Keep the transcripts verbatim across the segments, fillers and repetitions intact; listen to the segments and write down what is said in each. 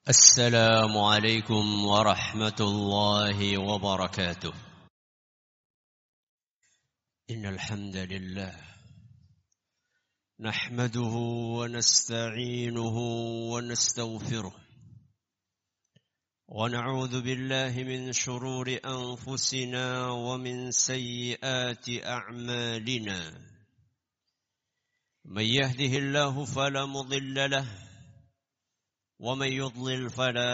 السلام عليكم ورحمة الله وبركاته. إن الحمد لله نحمده ونستعينه ونستغفره ونعوذ بالله من شرور أنفسنا ومن سيئات أعمالنا. من يهده الله فلا مضل له ومن يضلل فلا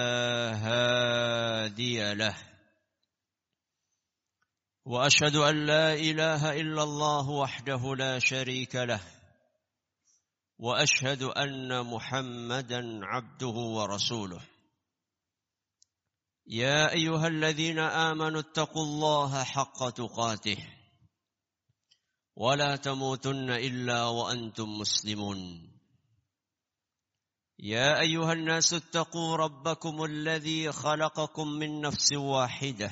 هادي له وأشهد أن لا إله إلا الله وحده لا شريك له وأشهد أن محمدا عبده ورسوله. يا أيها الذين آمنوا اتقوا الله حق تقاته ولا تموتن إلا وأنتم مسلمون. يا أيها الناس اتقوا ربكم الذي خلقكم من نفس واحدة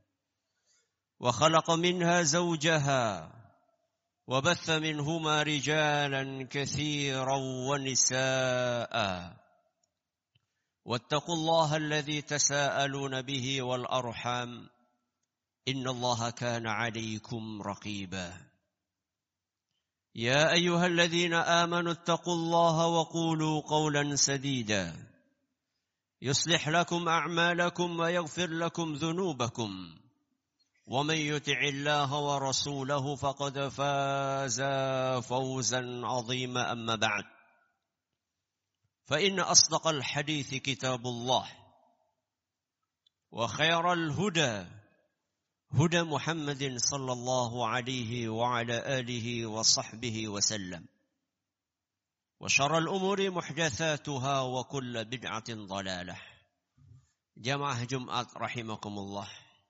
وخلق منها زوجها وبث منهما رجالا كثيرا ونساء واتقوا الله الذي تساءلون به والأرحام إن الله كان عليكم رقيبا. يا أيها الذين آمنوا اتقوا الله وقولوا قولا سديدا يصلح لكم أعمالكم ويغفر لكم ذنوبكم ومن يطع الله ورسوله فقد فاز فوزا عظيما. أما بعد فإن أصدق الحديث كتاب الله وخير الهدى هدى محمد صلى الله عليه وعلى آله وصحبه وسلم وشر الأمور محدثاتها وكل بدعة ضلالة. Jamaah Jumat rahimakumullah.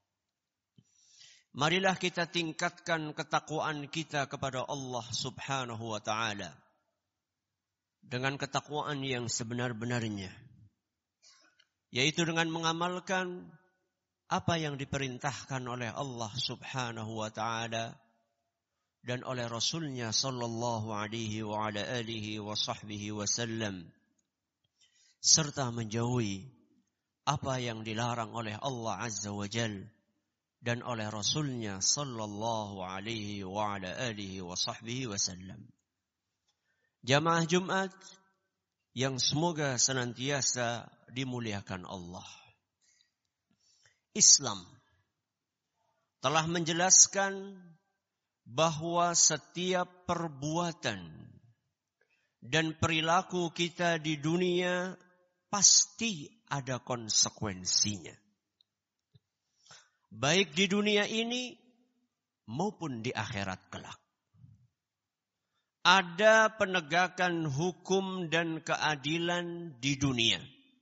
Marilah kita tingkatkan ketakwaan kita kepada Allah Subhanahu wa taala dengan ketakwaan yang sebenar-benarnya, yaitu dengan mengamalkan apa yang diperintahkan oleh Allah Subhanahu wa ta'ala dan oleh Rasulnya sallallahu alaihi wa ala alihi wa sahbihi wasallam, serta menjauhi apa yang dilarang oleh Allah Azza wa Jal dan oleh Rasulnya sallallahu alaihi wa ala alihi wa sahbihi wasallam. Jamaah Jumat yang semoga senantiasa dimuliakan Allah. Islam telah menjelaskan bahwa setiap perbuatan dan perilaku kita di dunia pasti ada konsekuensinya, baik di dunia ini maupun di akhirat kelak. Ada penegakan hukum dan keadilan di dunia,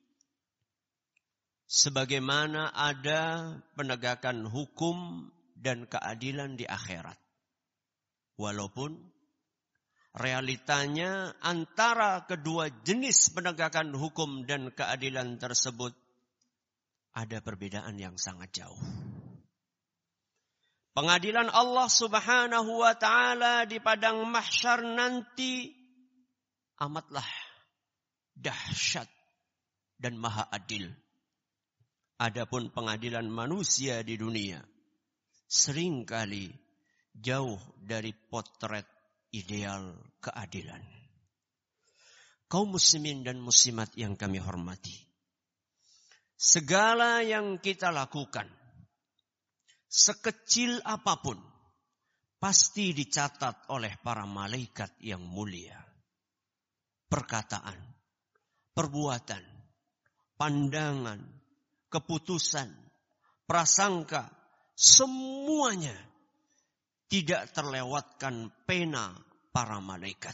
sebagaimana ada penegakan hukum dan keadilan di akhirat. Walaupun realitanya antara kedua jenis penegakan hukum dan keadilan tersebut ada perbedaan yang sangat jauh. Pengadilan Allah Subhanahu wa ta'ala di padang mahsyar nanti amatlah dahsyat dan maha adil. Adapun pengadilan manusia di dunia seringkali jauh dari potret ideal keadilan. Kaum muslimin dan muslimat yang kami hormati, segala yang kita lakukan, sekecil apapun, pasti dicatat oleh para malaikat yang mulia. Perkataan, perbuatan, pandangan, keputusan, prasangka, semuanya tidak terlewatkan pena para malaikat.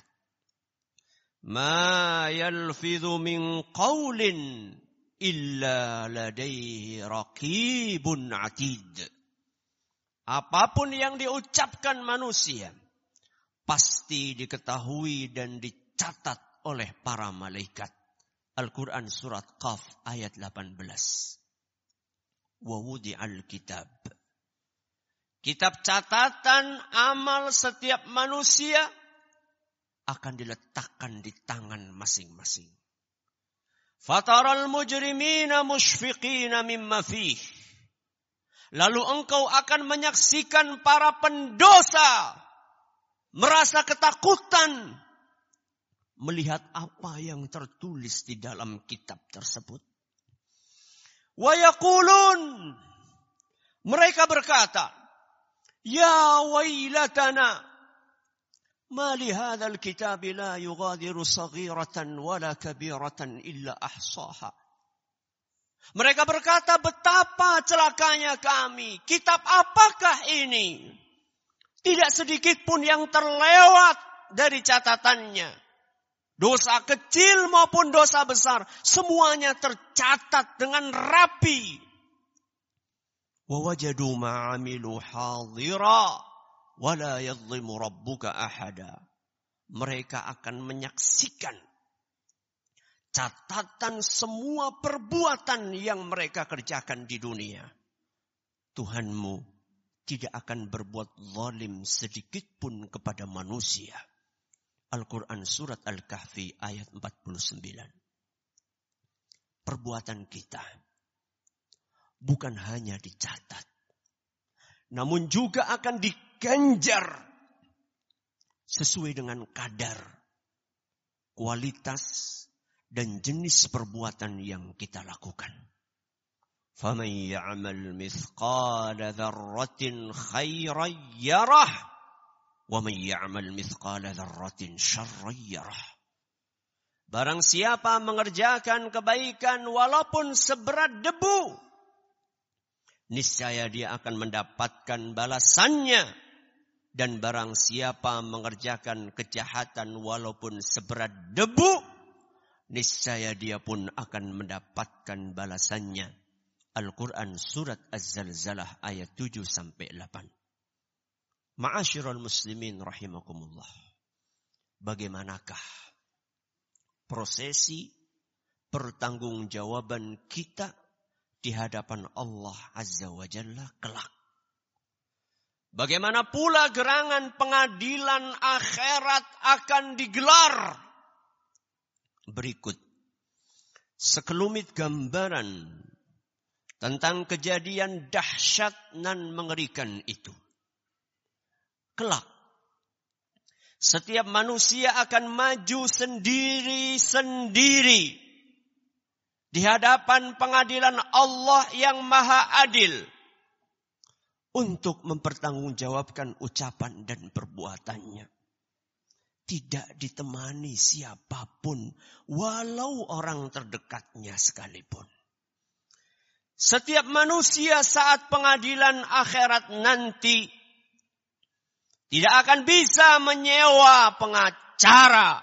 Ma yalfidhu min qawlin illa ladaihi raqibun atid. Apapun yang diucapkan manusia pasti diketahui dan dicatat oleh para malaikat. Al-Quran surat Qaf ayat delapan belas. Wa wudi'al kitab. Kitab catatan amal setiap manusia akan diletakkan di tangan masing-masing. Fataral mujrimina musyfiqina mimma fih. Lalu engkau akan menyaksikan para pendosa merasa ketakutan melihat apa yang tertulis di dalam kitab tersebut. Wa yaqulun, mereka berkata, ya wailatana, ma li hadzal kitab la yughadiru saghiratan wala kabiratan illa ahsaha. Mereka berkata, betapa celakanya kami. Kitab apakah ini? Tidak sedikit pun yang terlewat dari catatannya. Dosa kecil maupun dosa besar, semuanya tercatat dengan rapi. Wa wajadu ma 'amilu hadira wa la yadhlimu rabbuka ahada. Mereka akan menyaksikan catatan semua perbuatan yang mereka kerjakan di dunia. Tuhanmu tidak akan berbuat zalim sedikit pun kepada manusia. Al-Quran Surat Al-Kahfi ayat empat puluh sembilan. Perbuatan kita bukan hanya dicatat, namun juga akan diganjar sesuai dengan kadar, kualitas, dan jenis perbuatan yang kita lakukan. فَمَنْ يَعْمَلْ مِثْقَالَ ذَرَّةٍ خَيْرًا يَرَهُ وَمَنْ يَعْمَلْ مِثْقَالَ ذَرَّةٍ شَرًّا يَرَهُ. Barang siapa mengerjakan kebaikan walaupun seberat debu, niscaya dia akan mendapatkan balasannya. Dan barang siapa mengerjakan kejahatan walaupun seberat debu, niscaya dia pun akan mendapatkan balasannya. Al-Quran Surat Az-Zalzalah ayat tujuh sampai delapan. Ma'asyiral muslimin rahimakumullah. Bagaimanakah prosesi pertanggungjawaban kita di hadapan Allah Azza wa Jalla kelak? Bagaimana pula gerangan pengadilan akhirat akan digelar? Berikut sekelumit gambaran tentang kejadian dahsyat dan mengerikan itu. Kelak, setiap manusia akan maju sendiri-sendiri di hadapan pengadilan Allah yang Maha Adil untuk mempertanggungjawabkan ucapan dan perbuatannya. Tidak ditemani siapapun, walau orang terdekatnya sekalipun. Setiap manusia saat pengadilan akhirat nanti tidak akan bisa menyewa pengacara.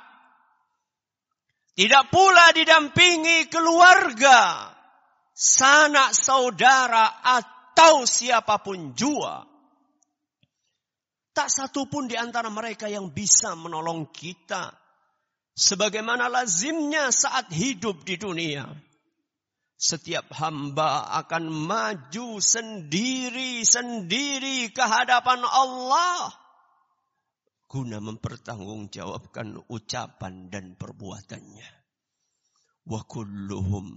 Tidak pula didampingi keluarga, sanak saudara atau siapapun jua. Tak satu pun di antara mereka yang bisa menolong kita. Sebagaimana lazimnya saat hidup di dunia. Setiap hamba akan maju sendiri-sendiri ke hadapan Allah. Guna mempertanggungjawabkan ucapan dan perbuatannya. Wa kulluhum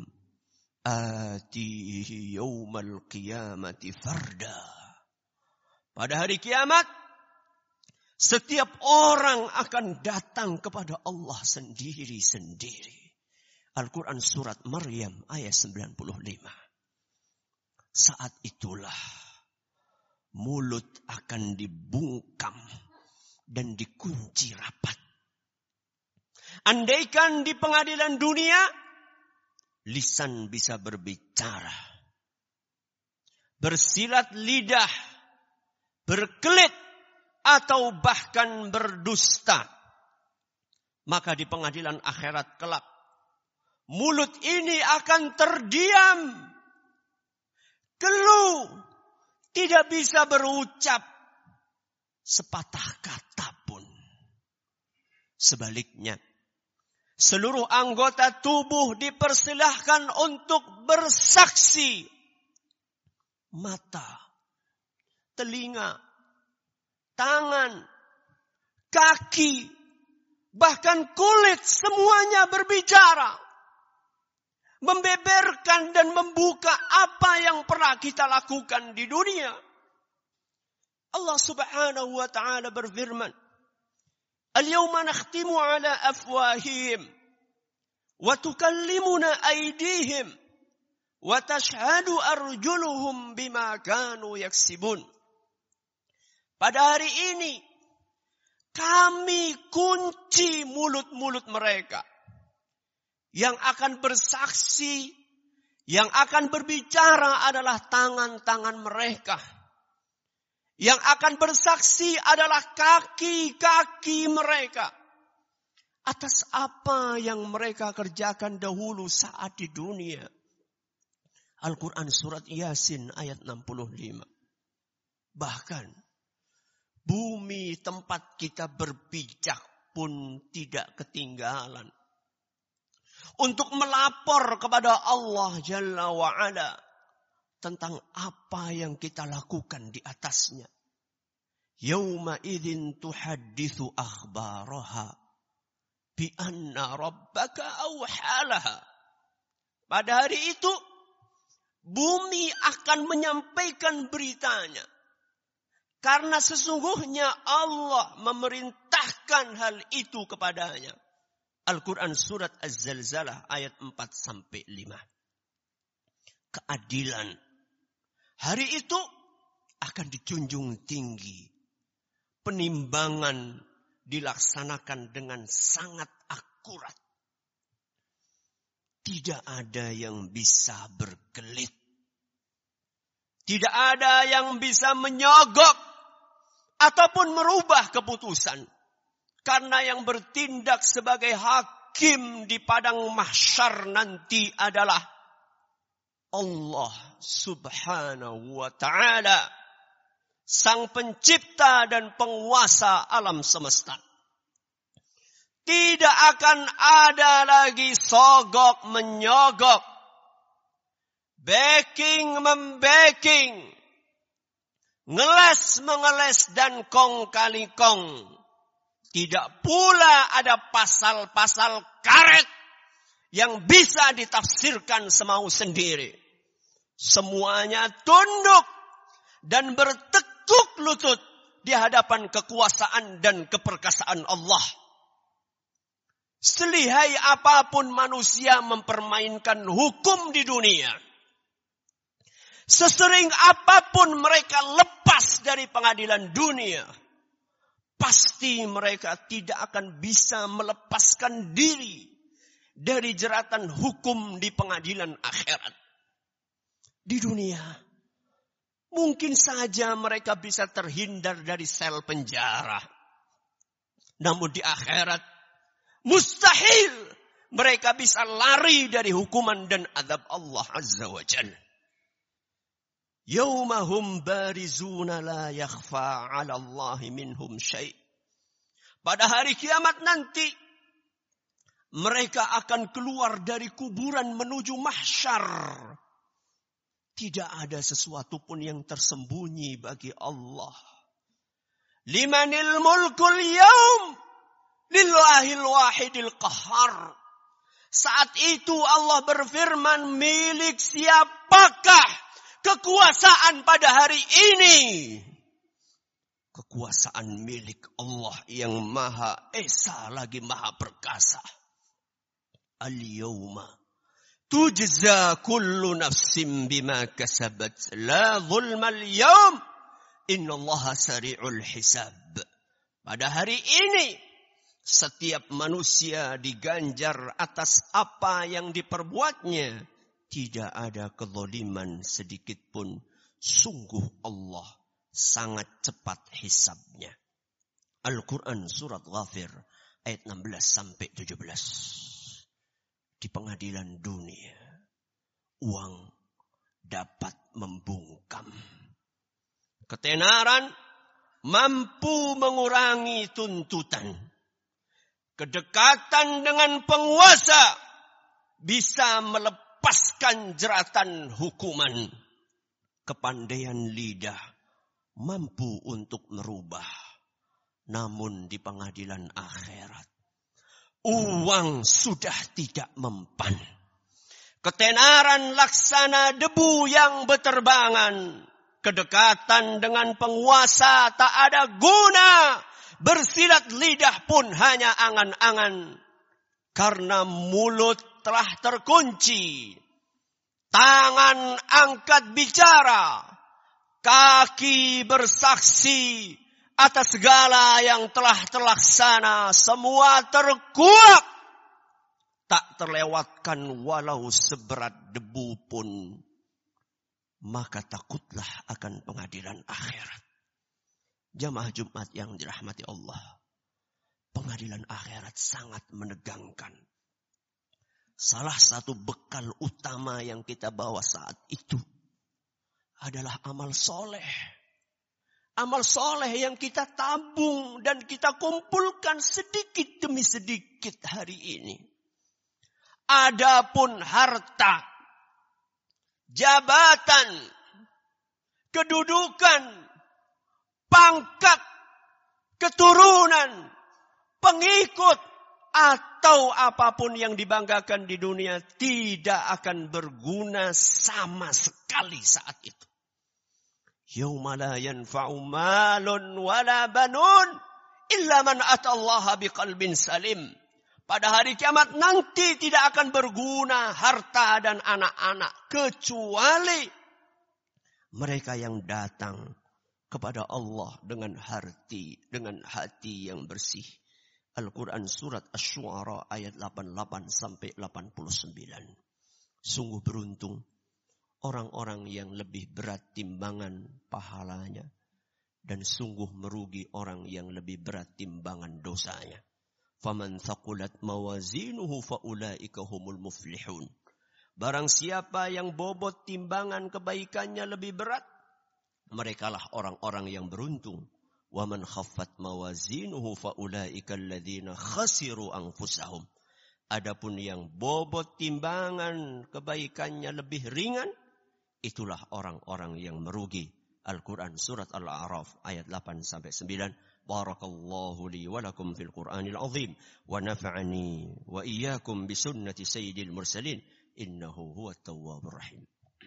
atihi yawmal qiyamati farda. Pada hari kiamat, setiap orang akan datang kepada Allah sendiri-sendiri. Al-Quran Surat Maryam ayat sembilan puluh lima. Saat itulah mulut akan dibungkam dan dikunci rapat. Andaikan di pengadilan dunia, lisan bisa berbicara, bersilat lidah, berkelit, atau bahkan berdusta. Maka di pengadilan akhirat kelak, mulut ini akan terdiam. Keluh, tidak bisa berucap sepatah kata pun. Sebaliknya, seluruh anggota tubuh dipersilahkan untuk bersaksi. Mata, telinga, tangan, kaki, bahkan kulit semuanya berbicara. membeberkan dan membuka apa yang pernah kita lakukan di dunia. Allah Subhanahu wa taala berfirman, "Al-yawma nakhtimu ala afwahihim wa tukallimuna aydihim wa tashhadu arjuluhum bima kanu yaksibun." Pada hari ini kami kunci mulut-mulut mereka. Yang akan bersaksi, yang akan berbicara adalah tangan-tangan mereka. Yang akan bersaksi adalah kaki-kaki mereka. Atas apa yang mereka kerjakan dahulu saat di dunia. Al-Quran surat Yasin ayat enam puluh lima. Bahkan bumi tempat kita berpijak pun tidak ketinggalan. Untuk melapor kepada Allah Jalla wa'ala tentang apa yang kita lakukan di atasnya. Yawma idzin tuhadditsu akhbaraha bi anna rabbaka awhalaha. Pada hari itu bumi akan menyampaikan beritanya. Karena sesungguhnya Allah memerintahkan hal itu kepadanya. Al-Quran surat Az-Zalzalah ayat empat sampai lima. Keadilan. Hari itu akan dijunjung tinggi. Penimbangan dilaksanakan dengan sangat akurat. Tidak ada yang bisa berkelit. Tidak ada yang bisa menyogok ataupun merubah keputusan. Karena yang bertindak sebagai hakim di padang mahsyar nanti adalah Allah Subhanahu wa ta'ala. Sang pencipta dan penguasa alam semesta. Tidak akan ada lagi sogok menyogok. Backing membacking. Ngeles mengeles dan kong kali kong. Tidak pula ada pasal-pasal karet yang bisa ditafsirkan semau sendiri. Semuanya tunduk dan bertekuk lutut di hadapan kekuasaan dan keperkasaan Allah. Selihai apapun manusia mempermainkan hukum di dunia. Sesering apapun mereka lepas dari pengadilan dunia. Pasti mereka tidak akan bisa melepaskan diri dari jeratan hukum di pengadilan akhirat. Di dunia, mungkin saja mereka bisa terhindar dari sel penjara. Namun di akhirat, mustahil mereka bisa lari dari hukuman dan azab Allah Azza wa Jalla. Yaumahum barizuna la yakhfa 'ala Allahi minhum syai'. Pada hari kiamat nanti mereka akan keluar dari kuburan menuju mahsyar. Tidak ada sesuatu pun yang tersembunyi bagi Allah. Limanil mulkul yaum lillahil wahidil qahhar. Saat itu Allah berfirman, milik siapakah kekuasaan pada hari ini? Kekuasaan milik Allah yang maha esa lagi maha perkasa. Al-yawma tujza kullu nafsin bima kasabat la zulma al-yawm innallaha sari'ul hisab. Pada hari ini setiap manusia diganjar atas apa yang diperbuatnya. Tidak ada kezaliman sedikit pun. Sungguh Allah sangat cepat hisabnya. Al-Quran surat Ghafir ayat enam belas sampai tujuh belas. Di pengadilan dunia, uang dapat membungkam. Ketenaran mampu mengurangi tuntutan. Kedekatan dengan penguasa bisa melepaskan lepaskan jeratan hukuman. Kepandaian lidah mampu untuk merubah. Namun di pengadilan akhirat, uang sudah tidak mempan. Ketenaran laksana debu yang berterbangan. Kedekatan dengan penguasa tak ada guna. Bersilat lidah pun hanya angan-angan. Karena mulut telah terkunci. Tangan angkat bicara. Kaki bersaksi atas segala yang telah terlaksana. Semua terkuak. Tak terlewatkan walau seberat debu pun. Maka takutlah akan pengadilan akhirat. Jamaah Jumat yang dirahmati Allah. Pengadilan akhirat sangat menegangkan. Salah satu bekal utama yang kita bawa saat itu adalah amal soleh. Amal soleh yang kita tabung dan kita kumpulkan sedikit demi sedikit hari ini. Adapun harta, jabatan, kedudukan, pangkat, keturunan, pengikut, atau apapun yang dibanggakan di dunia tidak akan berguna sama sekali saat itu. Yauma la yanfa'u malun wala banun illa man atallaha biqalbin salim. Pada hari kiamat nanti tidak akan berguna harta dan anak-anak kecuali mereka yang datang kepada Allah dengan hati, dengan hati yang bersih. Al-Quran surat Asy-Syu'ara ayat delapan puluh delapan sampai delapan puluh sembilan. Sungguh beruntung orang-orang yang lebih berat timbangan pahalanya dan sungguh merugi orang yang lebih berat timbangan dosanya. Faman thaqulat mawazinuhu faulaika humul muflihun. Barang siapa yang bobot timbangan kebaikannya lebih berat, merekalah orang-orang yang beruntung. Wa man khaffat mawazinuhu faulaika alladzina khasiru anfusahum. Adapun yang bobot timbangan kebaikannya lebih ringan, itulah orang-orang yang merugi. Al-Quran surat Al-A'raf ayat delapan sampai sembilan. Barakallahu li wa lakum fil Qur'anil azim wa nafa'ani wa iyyakum bi sunnati sayyidil mursalin innahu huwat tawwabur rahim.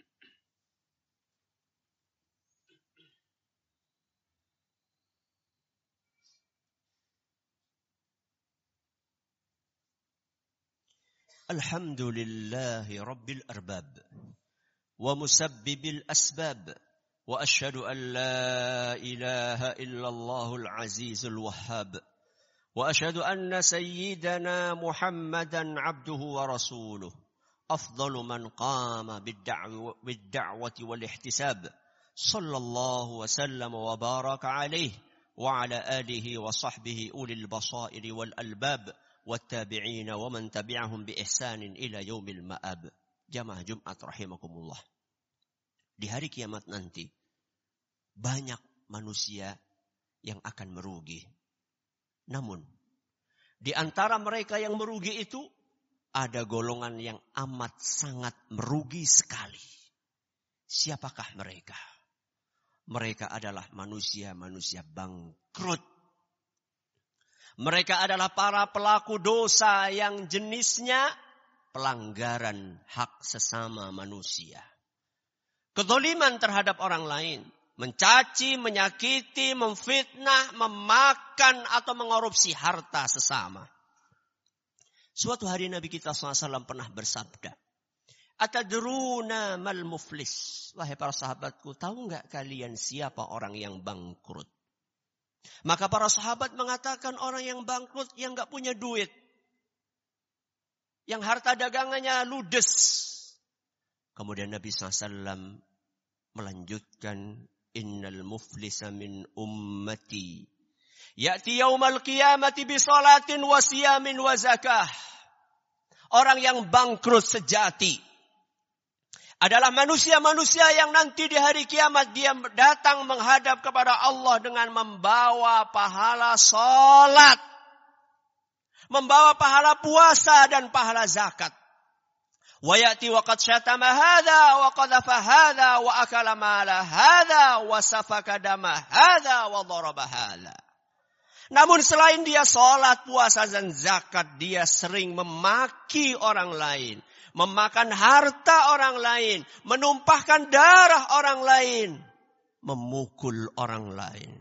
Alhamdulillahi rabbil arbab wa musabbibil asbab. وأشهد أن لا إله إلا الله العزيز الوهاب وأشهد أن سيدنا محمدا عبده ورسوله أفضل من قام بالدعوة, بالدعوة والاحتساب صلى الله وسلم وبارك عليه وعلى آله وصحبه أولي البصائر والألباب والتابعين ومن تبعهم بإحسان إلى يوم المآب. Jamaah Jumat rahimakumullah. Di hari kiamat nanti, banyak manusia yang akan merugi. Namun, di antara mereka yang merugi itu, ada golongan yang amat sangat merugi sekali. Siapakah mereka? Mereka adalah manusia-manusia bangkrut. Mereka adalah para pelaku dosa yang jenisnya pelanggaran hak sesama manusia. Kezaliman terhadap orang lain, mencaci, menyakiti, memfitnah, memakan atau mengorupsi harta sesama. Suatu hari Nabi kita shallallahu alaihi wasallam pernah bersabda, Atadruna mal muflis. Wahai para sahabatku, tahu enggak kalian siapa orang yang bangkrut? Maka para sahabat mengatakan orang yang bangkrut yang enggak punya duit. Yang harta dagangannya ludes. Kemudian Nabi shallallahu alaihi wasallam melanjutkan, Innal muflisa min ummati ya'ti yaumal qiyamati bi salatin wa siyamin wa zakah. Orang yang bangkrut sejati adalah manusia-manusia yang nanti di hari kiamat dia datang menghadap kepada Allah dengan membawa pahala salat, membawa pahala puasa dan pahala zakat. Wa ya'ti wa qad syatama hadha wa qadhafa hadha wa akala mala hadha wa safaka dama hadha wa daraba hadha. Namun selain dia salat, puasa dan zakat, dia sering memaki orang lain, memakan harta orang lain, menumpahkan darah orang lain, memukul orang lain.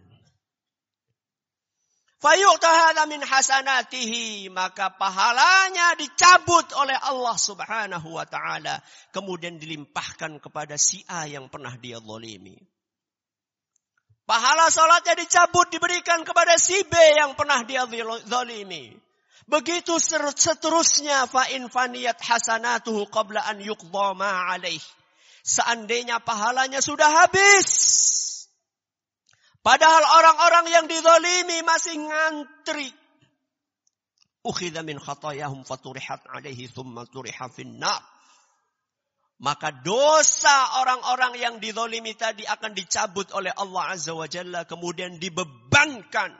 Fayu'ta hadza min hasanatihi, maka pahalanya dicabut oleh Allah Subhanahu wa taala, kemudian dilimpahkan kepada si A yang pernah dia zalimi. Pahala salatnya dicabut diberikan kepada si B yang pernah dia zalimi. Begitu seterusnya, fa in faniyat hasanatuhu qabla an yuqdha ma alaih. Seandainya pahalanya sudah habis, padahal orang-orang yang dizalimi masih ngantri, ukhidha min khatayahum faturihat alaihi thumma turiha finnar. Maka dosa orang-orang yang dizalimi tadi akan dicabut oleh Allah Azza wa Jalla, kemudian dibebankan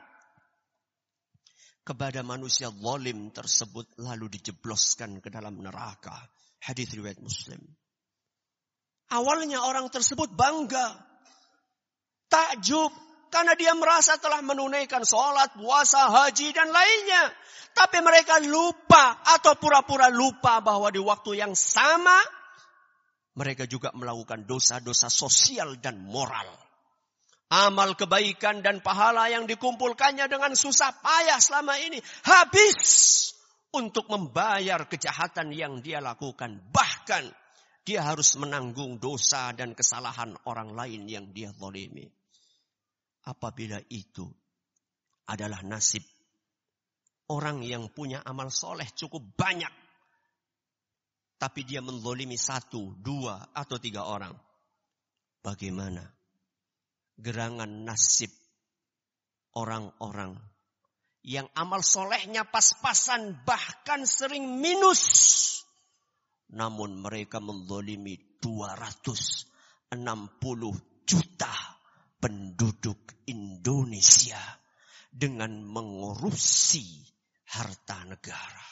kepada manusia zalim tersebut, lalu dijebloskan ke dalam neraka. Hadis riwayat Muslim. Awalnya orang tersebut bangga, takjub, karena dia merasa telah menunaikan sholat, puasa, haji, dan lainnya. Tapi mereka lupa atau pura-pura lupa bahwa di waktu yang sama, mereka juga melakukan dosa-dosa sosial dan moral. Amal kebaikan dan pahala yang dikumpulkannya dengan susah payah selama ini habis untuk membayar kejahatan yang dia lakukan. Bahkan dia harus menanggung dosa dan kesalahan orang lain yang dia zalimi. Apabila itu adalah nasib orang yang punya amal soleh cukup banyak, tapi dia menzalimi satu, dua, atau tiga orang, bagaimana gerangan nasib orang-orang yang amal solehnya pas-pasan, bahkan sering minus, namun mereka menzalimi dua ratus enam puluh juta penduduk Indonesia dengan mengurusi harta negara.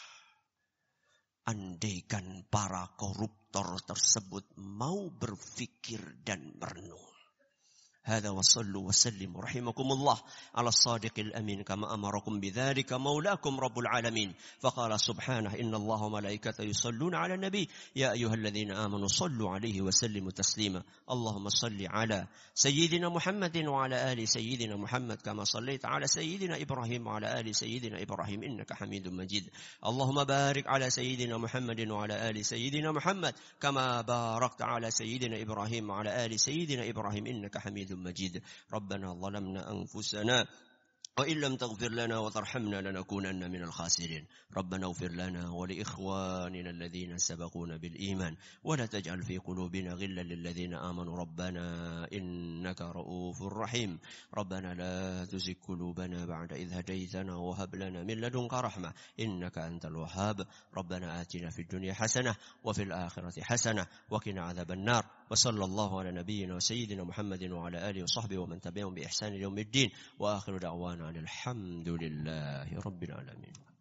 Andaikan para koruptor tersebut mau berpikir dan merenung. هذا وصلوا وسلموا رحمكم الله على الصادق الأمين كما أمركم بذلك مولاكم رب العالمين فقال سبحانه إن الله وملائكته يصلون على النبي يا أيها الذين آمنوا صلوا عليه وسلموا تسليما اللهم صل على سيدنا محمد وعلى آل سيدنا محمد كما صليت على سيدنا إبراهيم وعلى آل سيدنا إبراهيم إنك حميد مجيد اللهم بارك على سيدنا محمد وعلى آل سيدنا محمد كما باركت على سيدنا إبراهيم وعلى آل سيدنا إبراهيم إنك حميد مجيد ربنا ظلمنا أنفسنا وإن لم تغفر لنا وترحمنا لنكونن من الخاسرين ربنا اغفر لنا ولإخواننا الذين سبقونا بالإيمان ولا تجعل في قلوبنا غلا للذين آمنوا ربنا إنك رؤوف رحيم ربنا لا تزغ قلوبنا بعد إذ هديتنا وهب لنا من لدنك رحمة إنك أنت الوهاب ربنا آتنا في الدنيا حسنة وفي الآخرة حسنة وقنا عذاب النار وصلى الله على نبينا وسيدنا محمد وعلى آله وصحبه ومن تبعهم بإحسان يوم الدين وآخر دعوانا الحمد لله رب العالمين.